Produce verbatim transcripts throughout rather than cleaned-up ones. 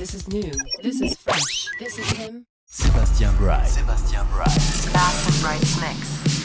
This is new. This is fresh. This is him. Sébastien Bright. Sébastien Bright. Sebastian Bright's mix.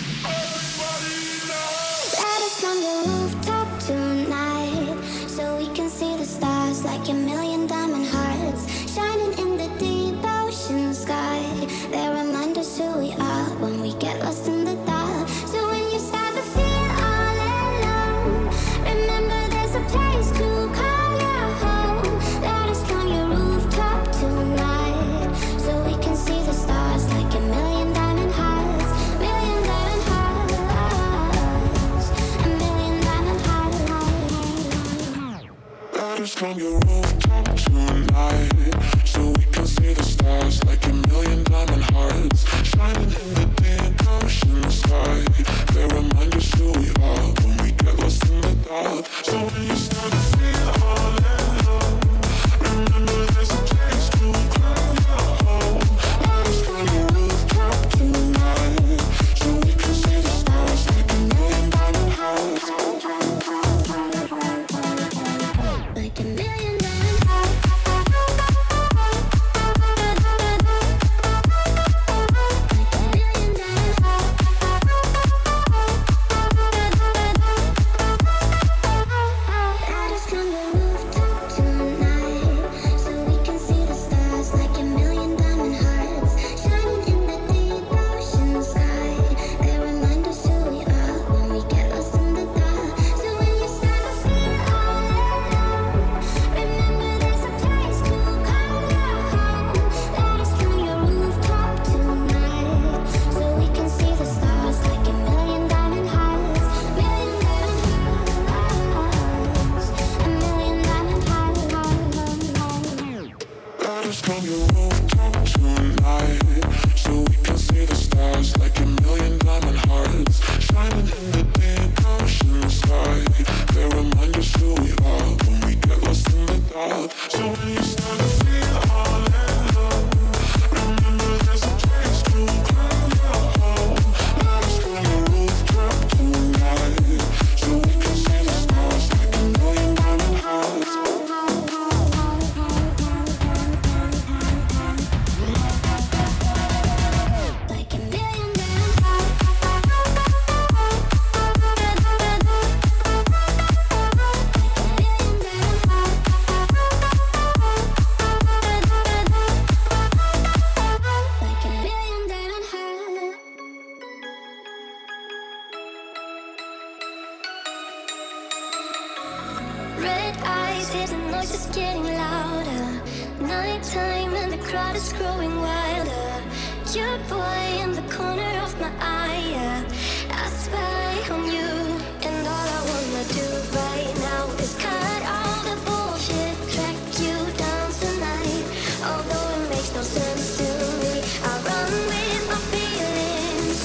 Let us on the rooftop tonight, so we can see the stars like a million diamond hearts shining in the deep ocean sky. They remind us who we are when we get lost in the dark. So when you start to feel all alone, remember there's a place to call your home. Let us on your rooftop tonight, so we can see the stars like a million diamond hearts, million diamond hearts, a million diamond hearts. Let us on your rooftop tonight, so we can see the stars like a million diamond hearts shining in the deep ocean sky. They remind us who we are when we get lost in the dark. So when you start to feel all alone, remember there's a place to call your home. Let us on your rooftop tonight, so we can see the stars like a million diamond hearts, Like a million diamond from your rooftop tonight, so we can see the stars like a million diamond hearts shining in the deep ocean sky. They remind us who we are when we get lost in the dark. So when you start to feel all alone, remember there's a place to call your home. Let us from your rooftop tonight, so we can see the stars like a million diamond hearts. red eyes, hear the noise is getting louder. Nighttime and the crowd is growing wilder. Your boy in the corner of my eye, yeah. I spy on you, and all I wanna do right now is cut all the bullshit, track you down tonight. Although it makes no sense to me, I run with my feelings,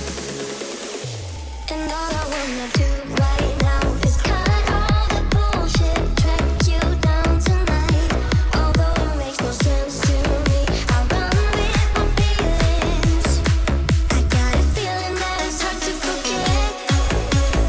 and all I wanna do right now is cut all the bullshit, track you down tonight. Although it makes no sense to me, I run with my feelings. I got a feeling that it's hard to forget.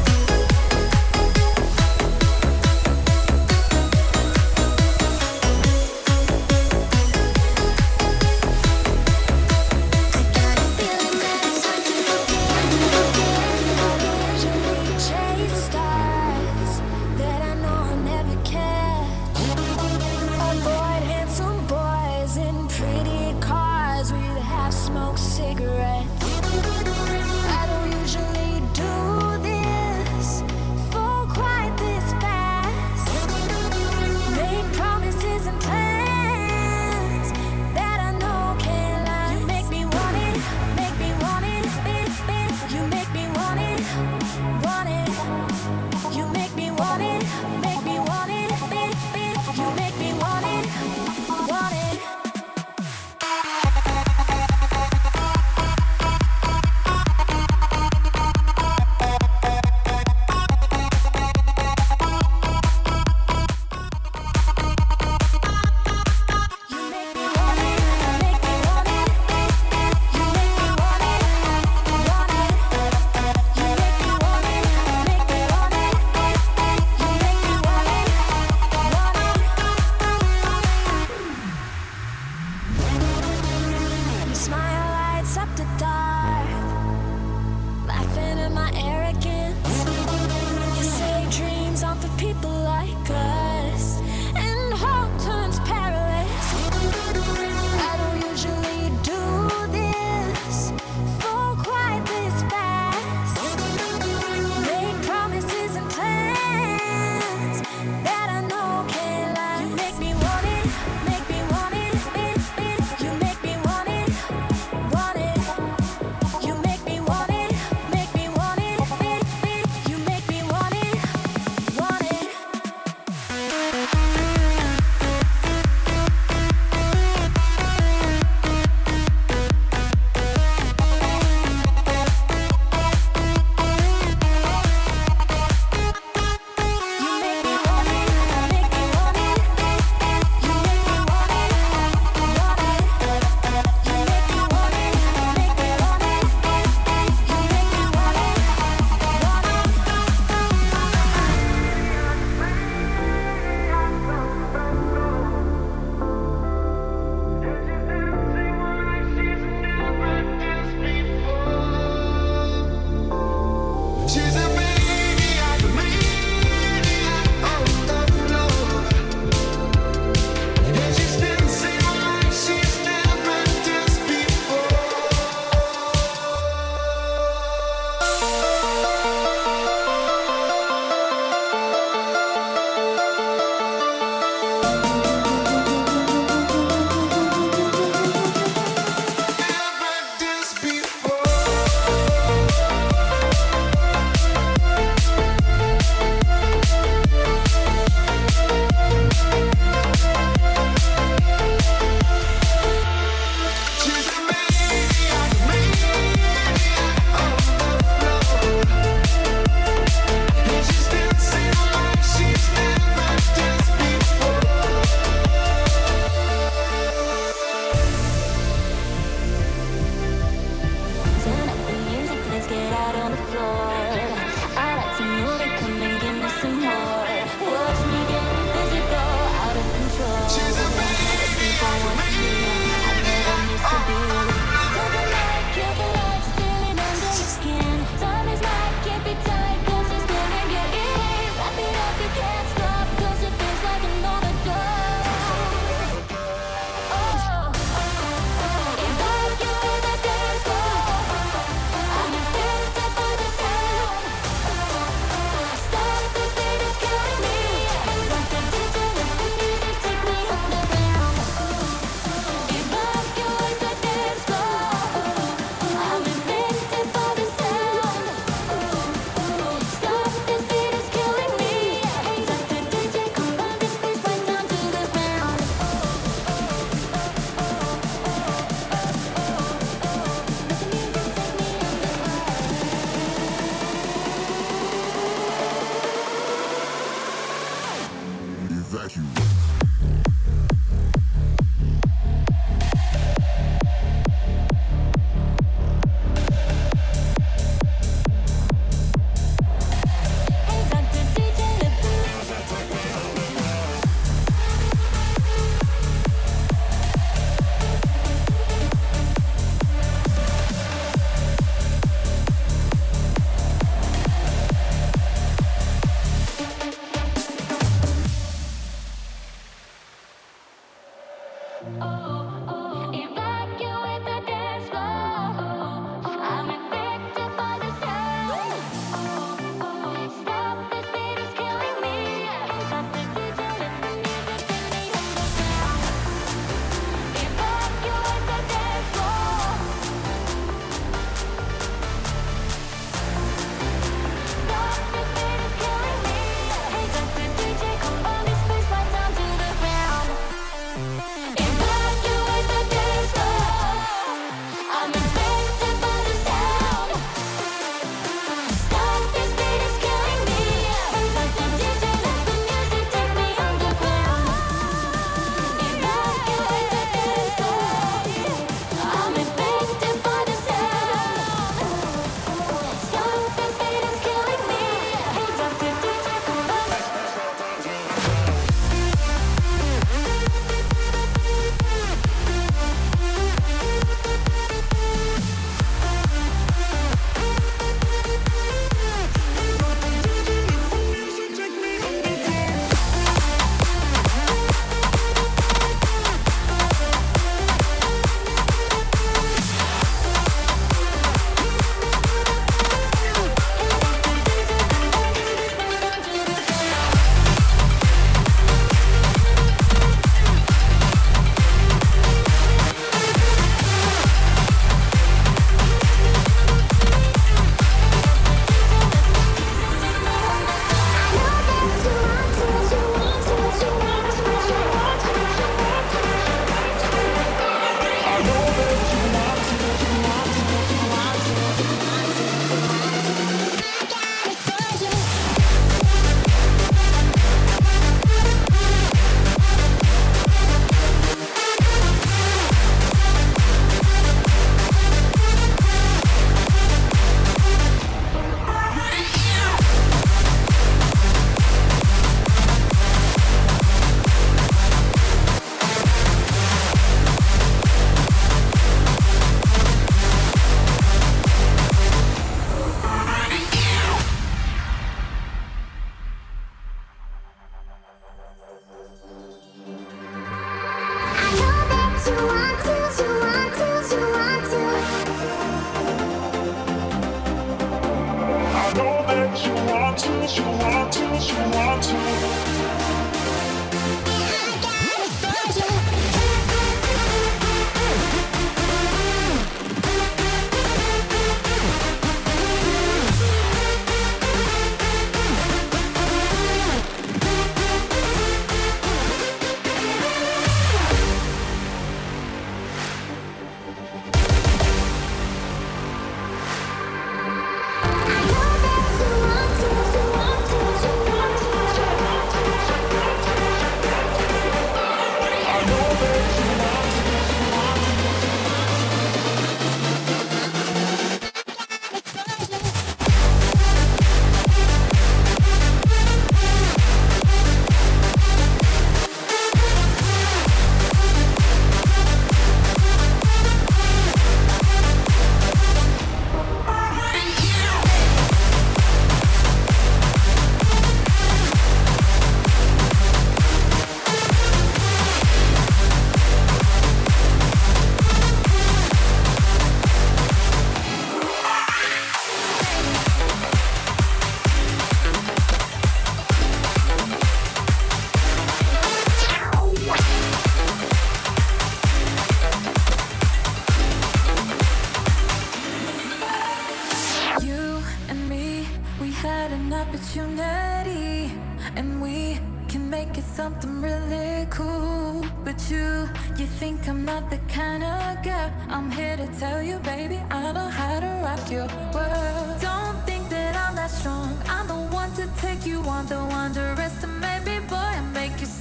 opportunity, and we can make it something really cool. But you, you think I'm not the kind of girl. I'm here to tell you, baby, I know how to rock your world. Don't think that I'm that strong. I'm the one to take you on. Don't underestimate me, boy, and make you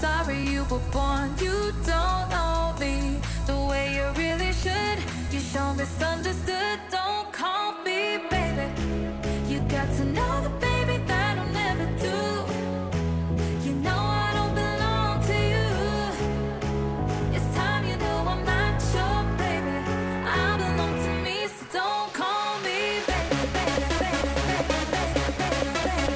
sorry you were born. You don't know me the way you really should. You show misunderstood. Don't call me baby. You got to know the baby that I'll never do. You know I don't belong to you. It's time you know I'm not your baby. I belong to me, so don't call me baby, baby, baby, baby, baby, baby, baby,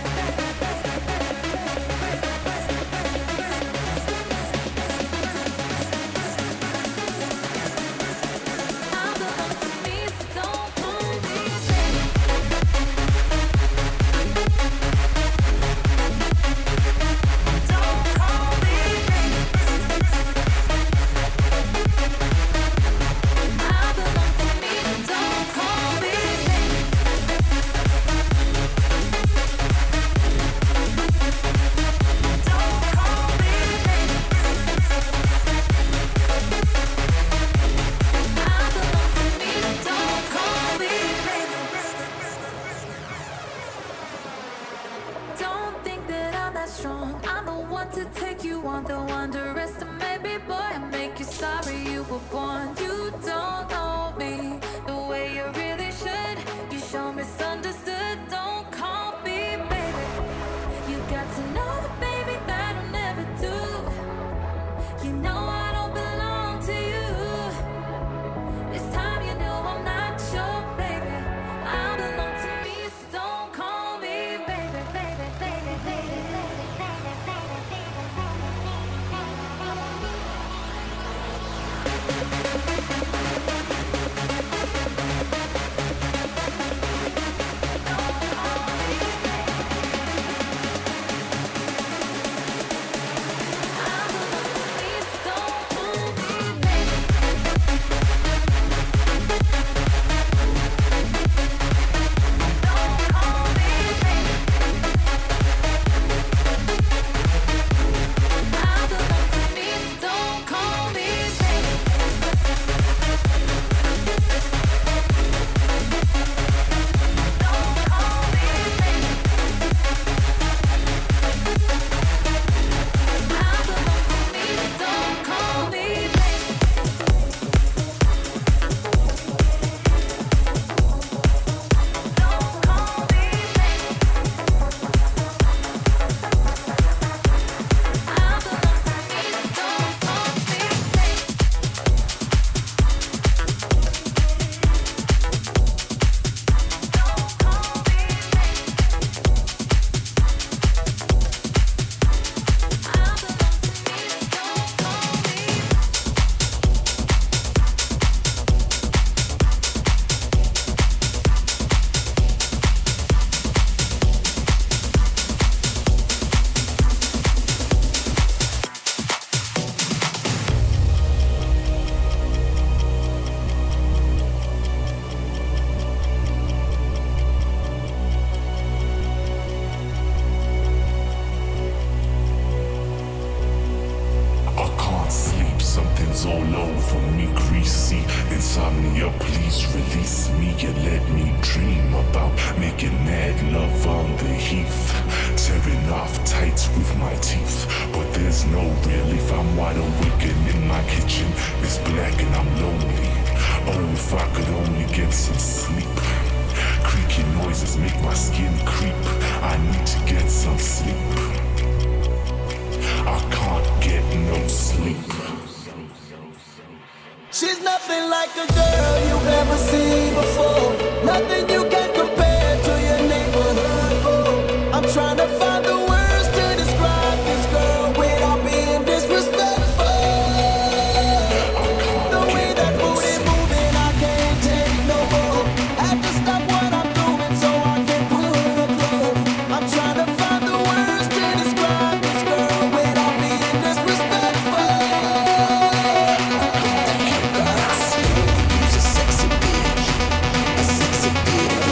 I belong to me, so don't call me baby. Don't call me baby. I belong to me, so don't call me baby. Don't call me baby. I belong to me, so don't call me baby. Don't think that I'm that strong. I'm the one to take you on, the one to underestimate me, boy. I make you sorry you were born. You don't know me the way you really should. You show misunderstood. Don't call me baby. You got to know the baby that I'll never do. You know I don't belong to you. It's time you know I'm not your baby. I belong to me, so don't call me baby, baby, baby, baby, baby, baby, baby, I belong to me, so don't call me baby. Don't call me baby. I belong to me, so don't call me baby. Don't call me baby. I belong to me, so don't call me baby. Don't call me baby. I belong to me, so don't call me baby. Don't call me baby. I belong to me, so don't call me. I can't sleep, something's all over me, greasy. Insomnia, please release me and let me dream about making mad love on the heath. Tearing off tights with my teeth, but there's no relief. I'm wide awake and in my kitchen it's black and I'm lonely. Oh, if I could only get some sleep. Creaky noises make my skin creep. I need to get some sleep. I can't get no sleep. She's nothing like a girl you've ever seen before. Nothing you can compare to your neighborhood. Oh, I'm trying to find the words to describe this girl without being disrespectful. The way that booty moving, I can't take no more. Have to stop what I'm doing so I can pull her close. I'm trying to find the words to describe this girl without being disrespectful. Who's a sexy bitch? A sexy bitch.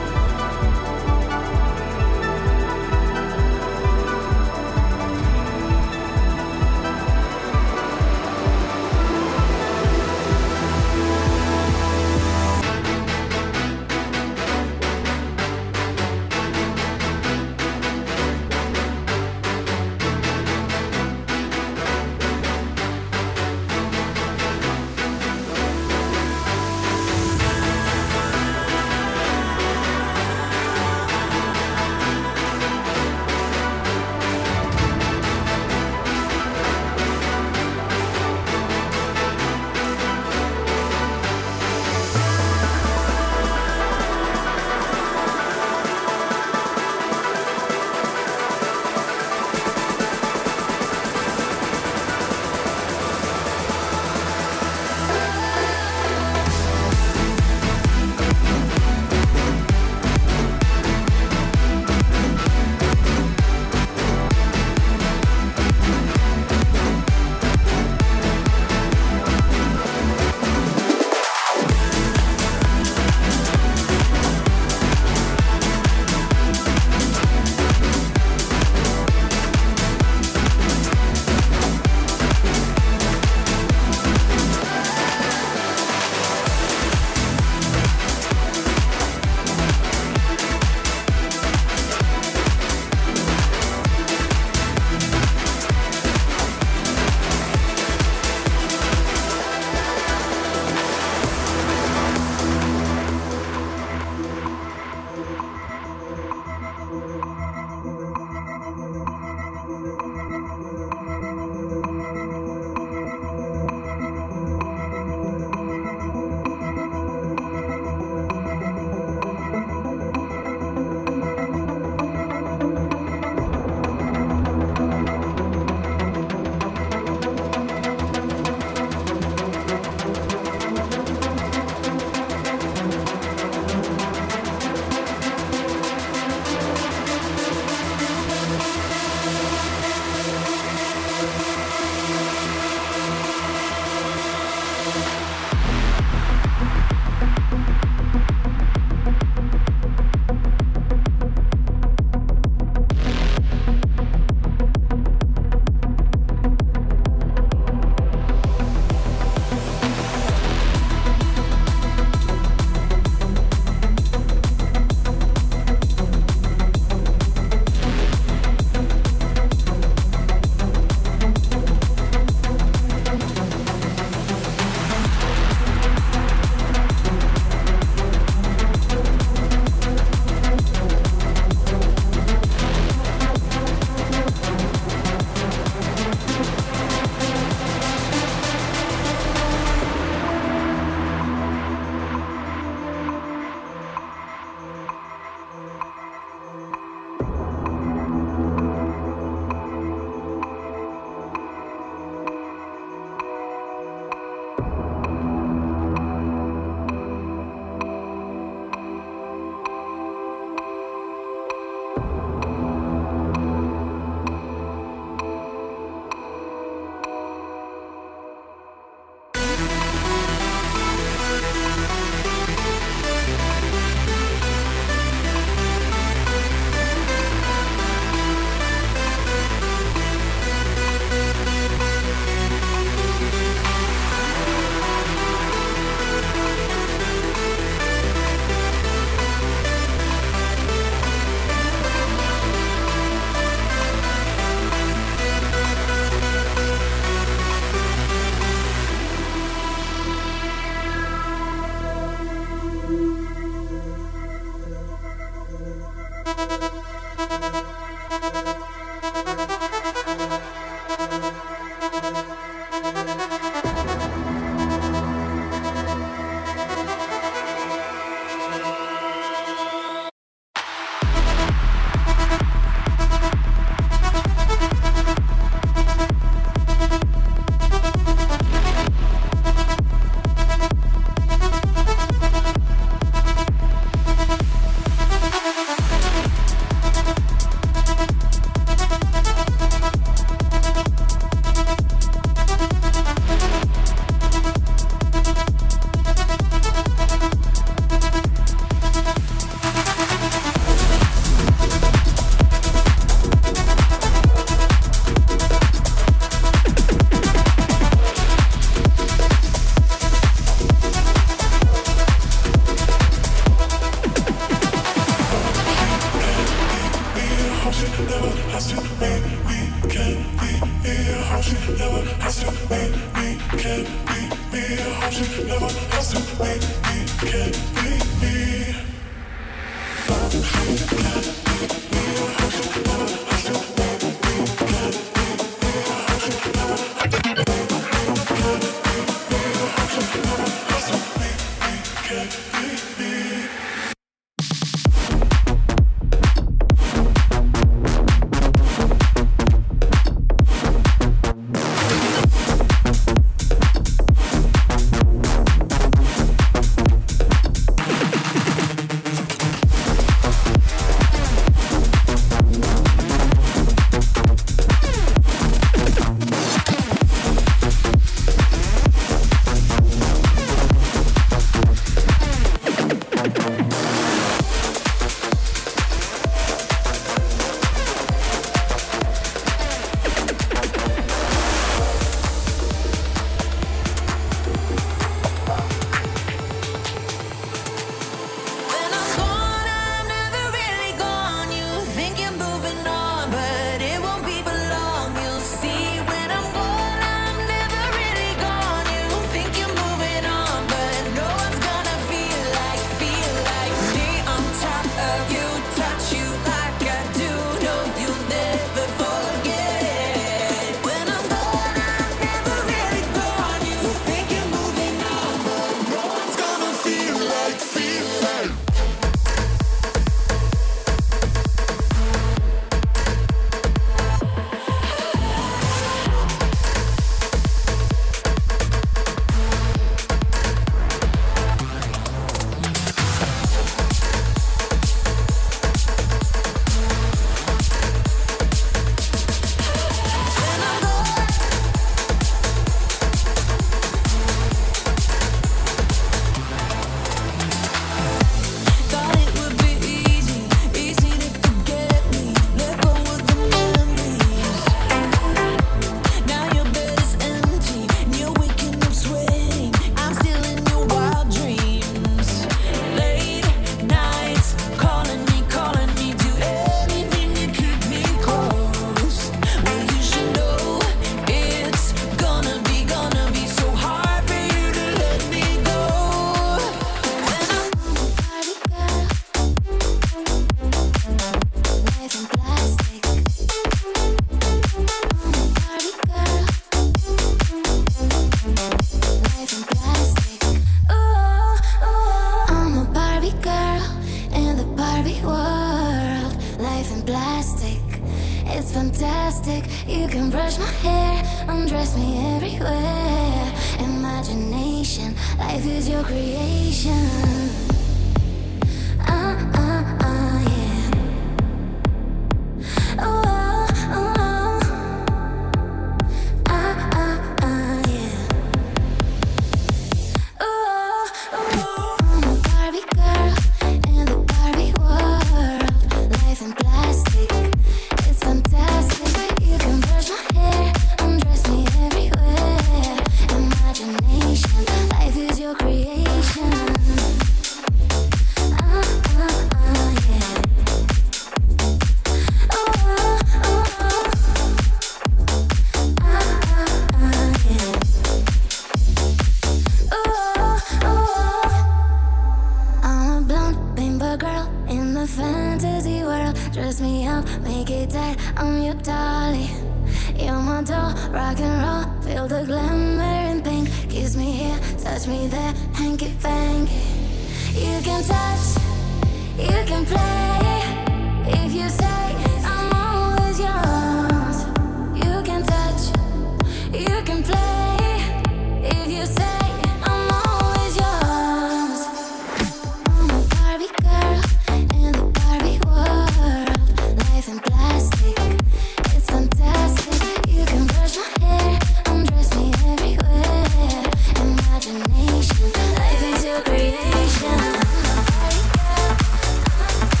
Imagination, life is your creation.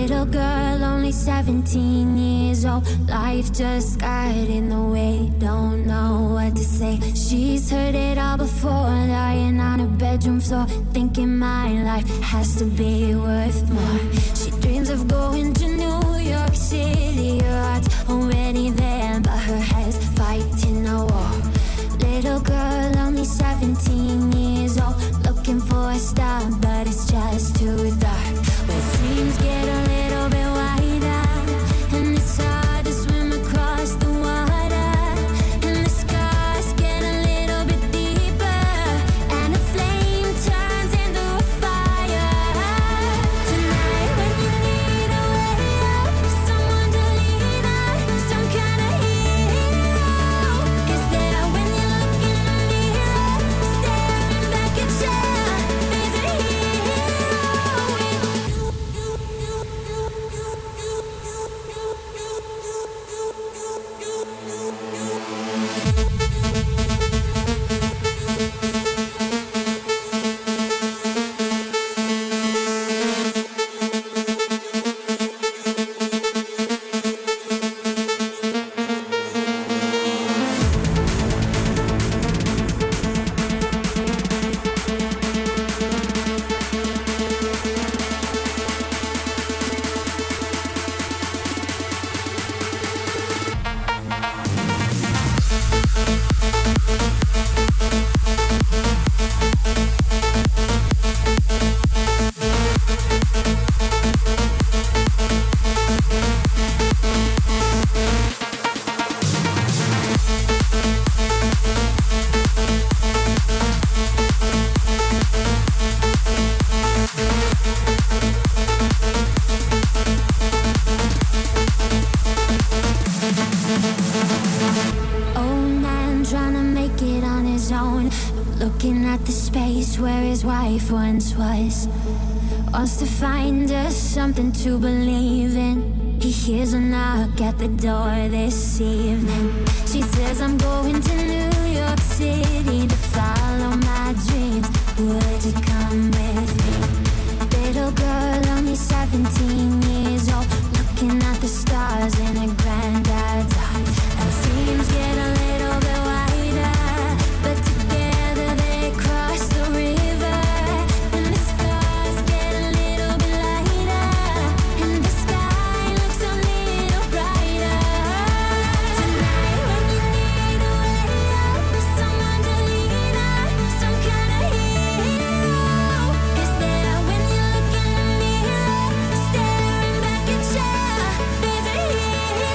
Little girl, only seventeen years old. Life just got in the way, don't know what to say. She's heard it all before, lying on her bedroom floor, thinking my life has to be worth more. She dreams of going to New York City. Her heart's already there, but her head's fighting a war. Little girl, only seventeen years old, looking for a star, but it's just too dark. Where dreams get a little bit wider, and it's hard to swim across the water, and the scars get a little bit deeper, and a flame turns into a fire. Tonight when you need a way up, someone to lean on, some kind of hero is there when you look in the mirror, staring back at you. There's a hero with you. Old man trying to make it on his own, looking at the space where his wife once was. Wants to find us something to believe in. He hears a knock at the door this evening. She says, I'm going to New York City to follow my dreams. Would you come with me? Little girl, only seventeen years old, looking at the stars in a granddad's eyes. And dreams get a little bit wider, but together they cross the river. And the stars get a little bit lighter, and the sky looks a little brighter. Tonight when you need a way up, someone to lean on, some kind of hero is there when you look in the mirror, staring back at you. There's a hero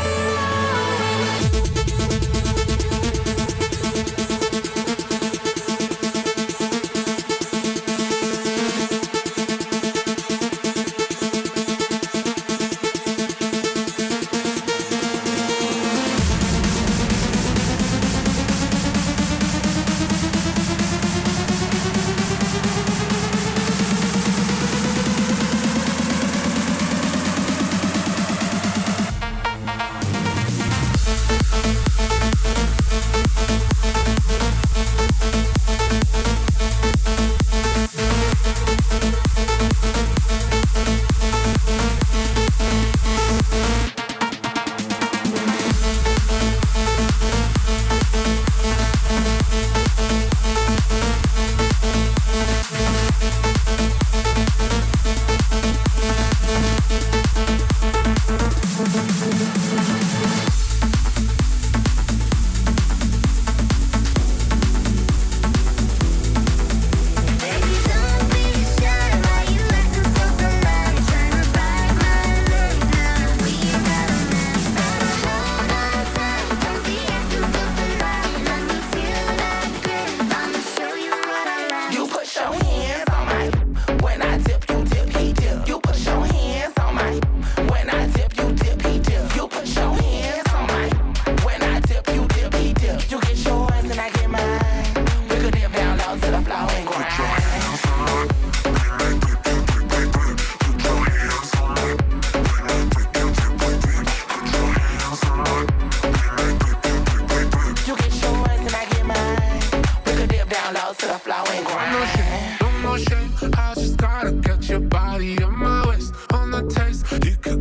I just gotta get your body on my waist, on the taste. You can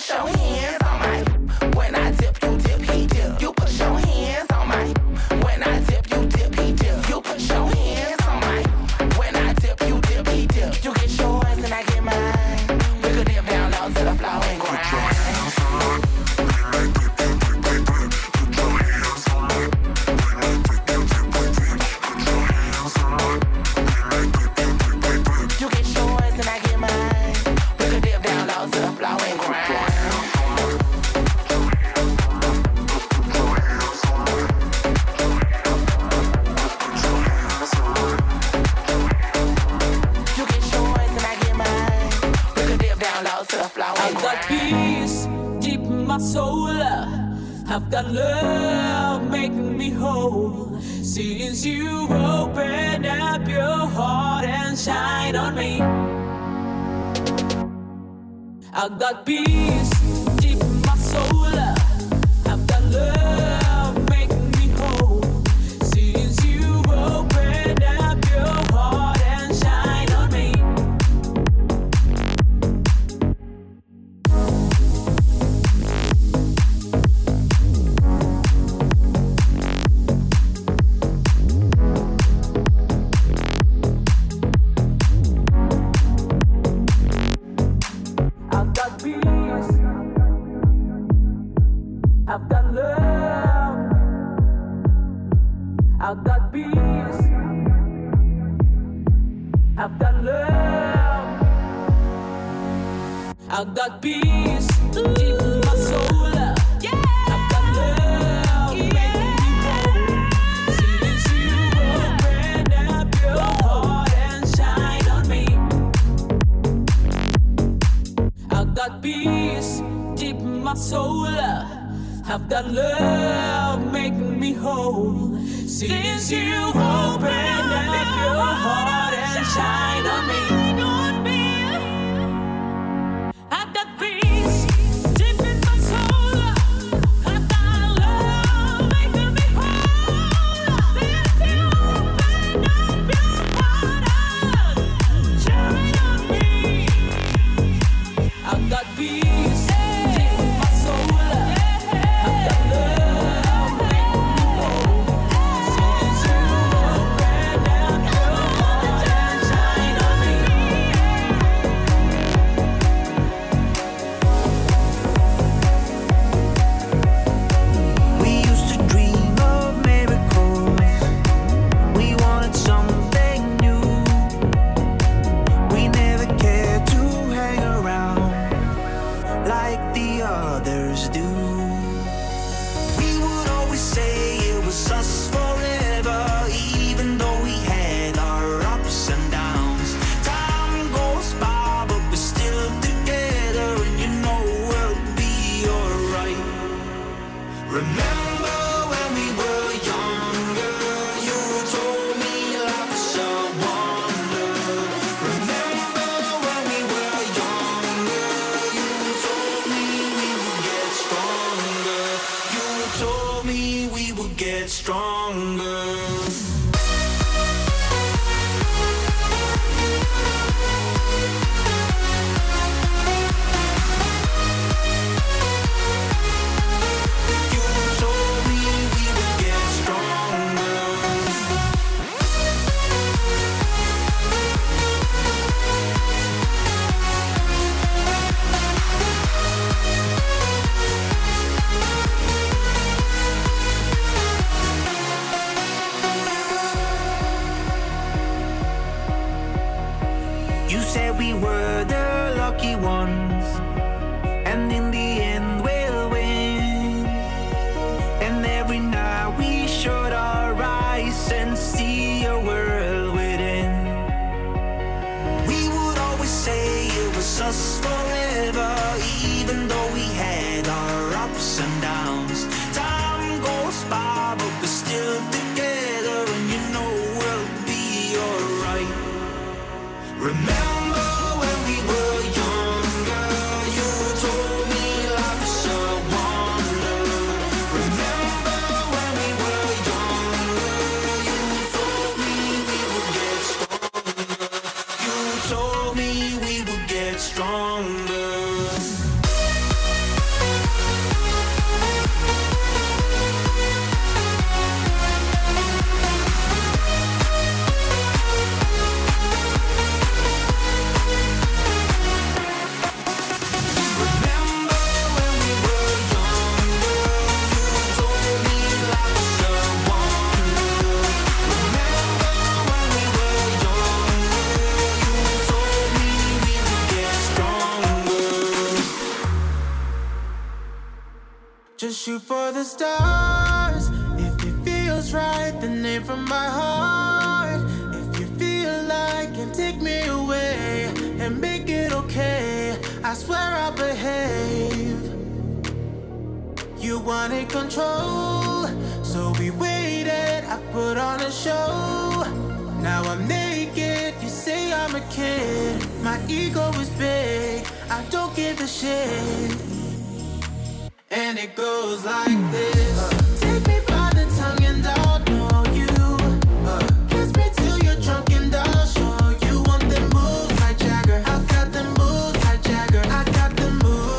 put your hands on my. When I dip, you dip, he dip. You put your hands on my. When I dip, you dip, he dip. You put your hands on my. When I dip, you dip, he dip. You get yours and I get mine. We could dip down low to the floor and grind. I've got love making me whole. Since you opened up your heart and shine on me, I've got peace deep in my soul. I've got love making me whole. Since you opened up your heart and shine on me. I've got love, I've got peace, I've got love, I've got peace deep in my soul. I've got love making me whole. Since you opened up your heart and shine on me, I've got peace deep in my soul. I've got love making me whole. Since you've opened up your heart and shine on me. I've got peace deep in my soul. I've got love making me whole. Since you've opened up your heart and shine on me. I've got peace deep in my soul. Just shoot for the stars. If it feels right, then aim from my heart. If you feel like and take me away and make it okay, I swear I'll behave. You wanted control, so we waited. I put on a show. Now I'm naked, you say I'm a kid. My ego is big, I don't give a shit. And it goes like this. uh, Take me by the tongue and I'll know you. uh, Kiss me till you're drunk and I'll show you. Want them moves like Jagger, I got them moves like Jagger. I got them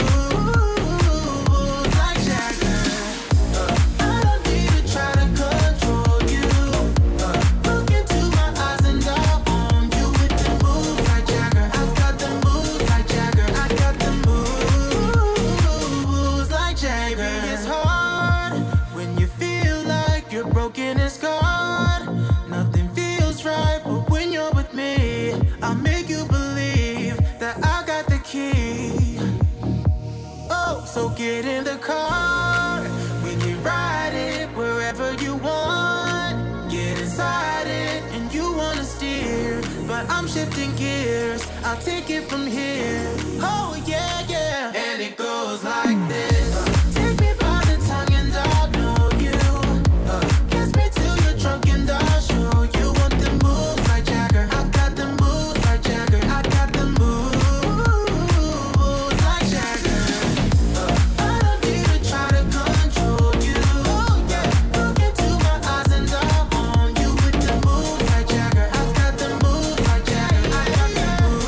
moves like Jagger. uh, I don't need to try to control you. uh, Look into my eyes and I'll own you. With them moves like Jagger, I got them moves like Jagger. I got them moves like Jagger. It's hard when you feel like you're broken and scarred. Nothing feels right, but when you're with me, I'll make you believe that I got the key. Oh, so get in the car. We can ride it wherever you want. Get inside it and you wanna steer, but I'm shifting gears. I'll take it from here. Oh yeah, yeah. And it goes like this. Take me by the tongue and I'll know you. uh, Kiss me till you're drunk and I'll show you. Want the moves like Jagger, I got the moves like Jagger. I got the moves like Jagger. uh, I don't need to try to control you. Oh yeah, look into my eyes and I'll own you. With the moves like Jagger, I got the moves like Jagger. I got the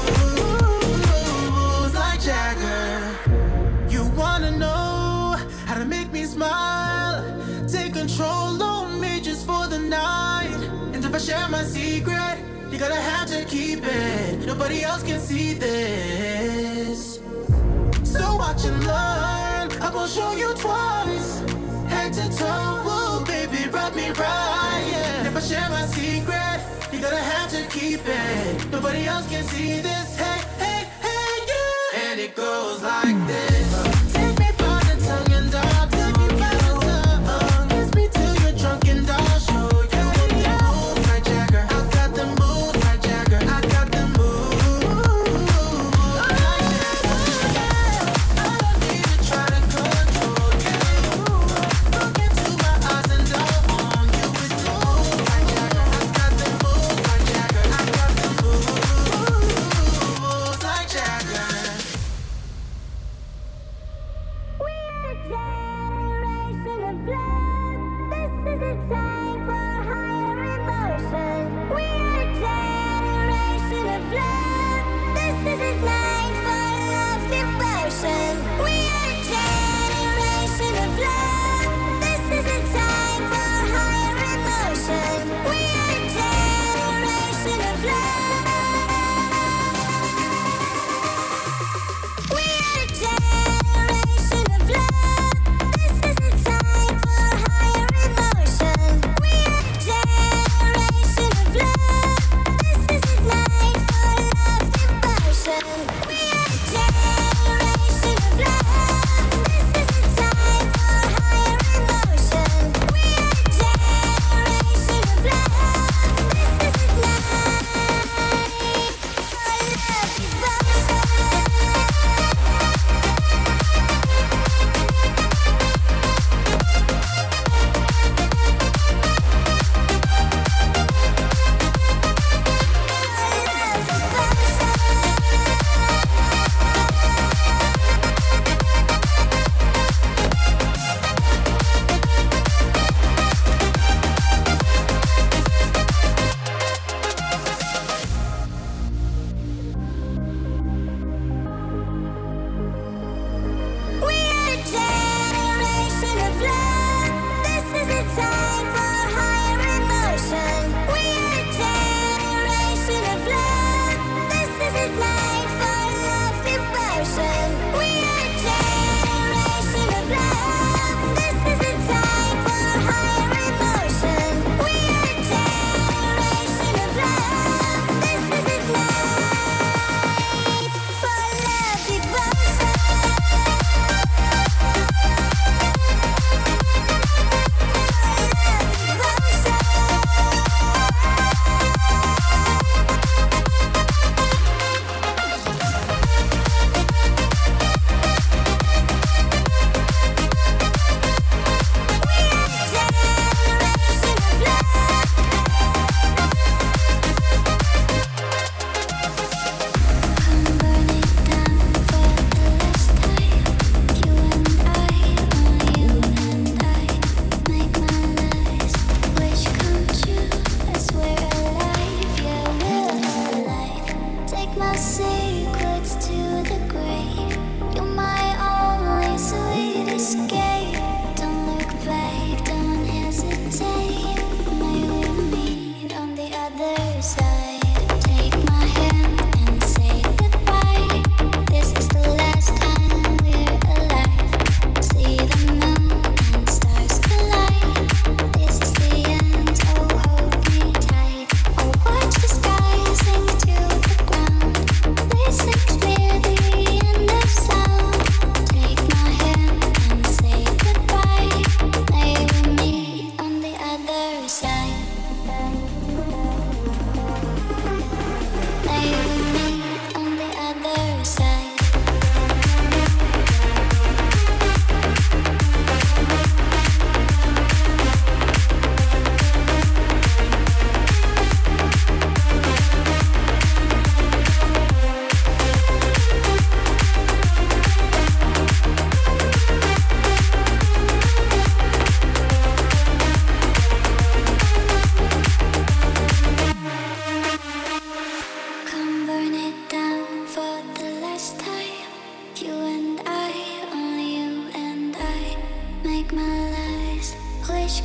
moves like Jagger. You wanna know how to make me smile? Take control on me just for the night. And if I share my secret, you gotta have to keep it. Nobody else can see this. So watch and learn. I'm gonna show you twice. Head to toe, woo, baby, rub me right. Yeah. And if I share my secret, you gotta have to keep it. Nobody else can see this. Hey, hey, hey, yeah. And it goes like this. Take me by the tongue and I'll take me by the tongue. Kiss me till you're drunk and I'll show you. Want the moves like Jagger, I got the moves like Jagger. I got the moves like Jagger. I don't need to try to control you. Look into my eyes and I'll own you. With the moves like Jagger, I got the moves like Jagger. I got the moves like Jagger.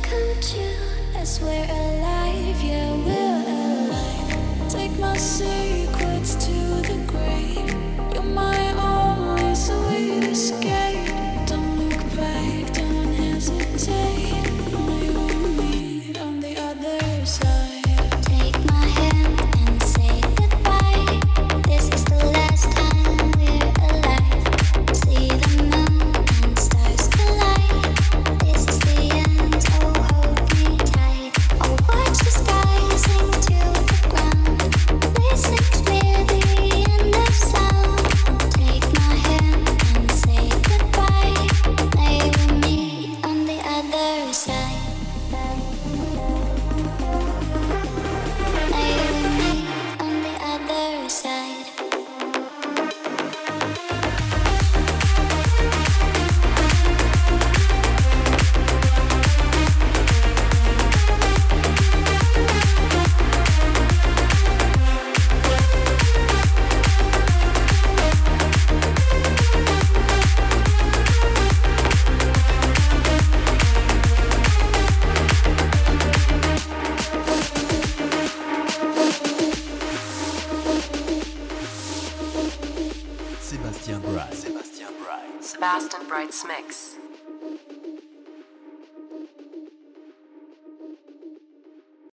come true as we're alive, yeah, we're alive. Take my secrets to the grave. You're my only sweet escape. Don't look back, don't hesitate. We will meet on the other side. Take my hand and say goodbye. This is the last time we're alive. See the moon and stars collide. This is the end, oh hold me tight. Oh watch the sky sink to the ground. Listen clear the end of sound. Take my hand and say goodbye. May we meet on the other side. May we meet on the other side. Sébastien Bright. Sébastien Bright. Sebastian Bright's mix.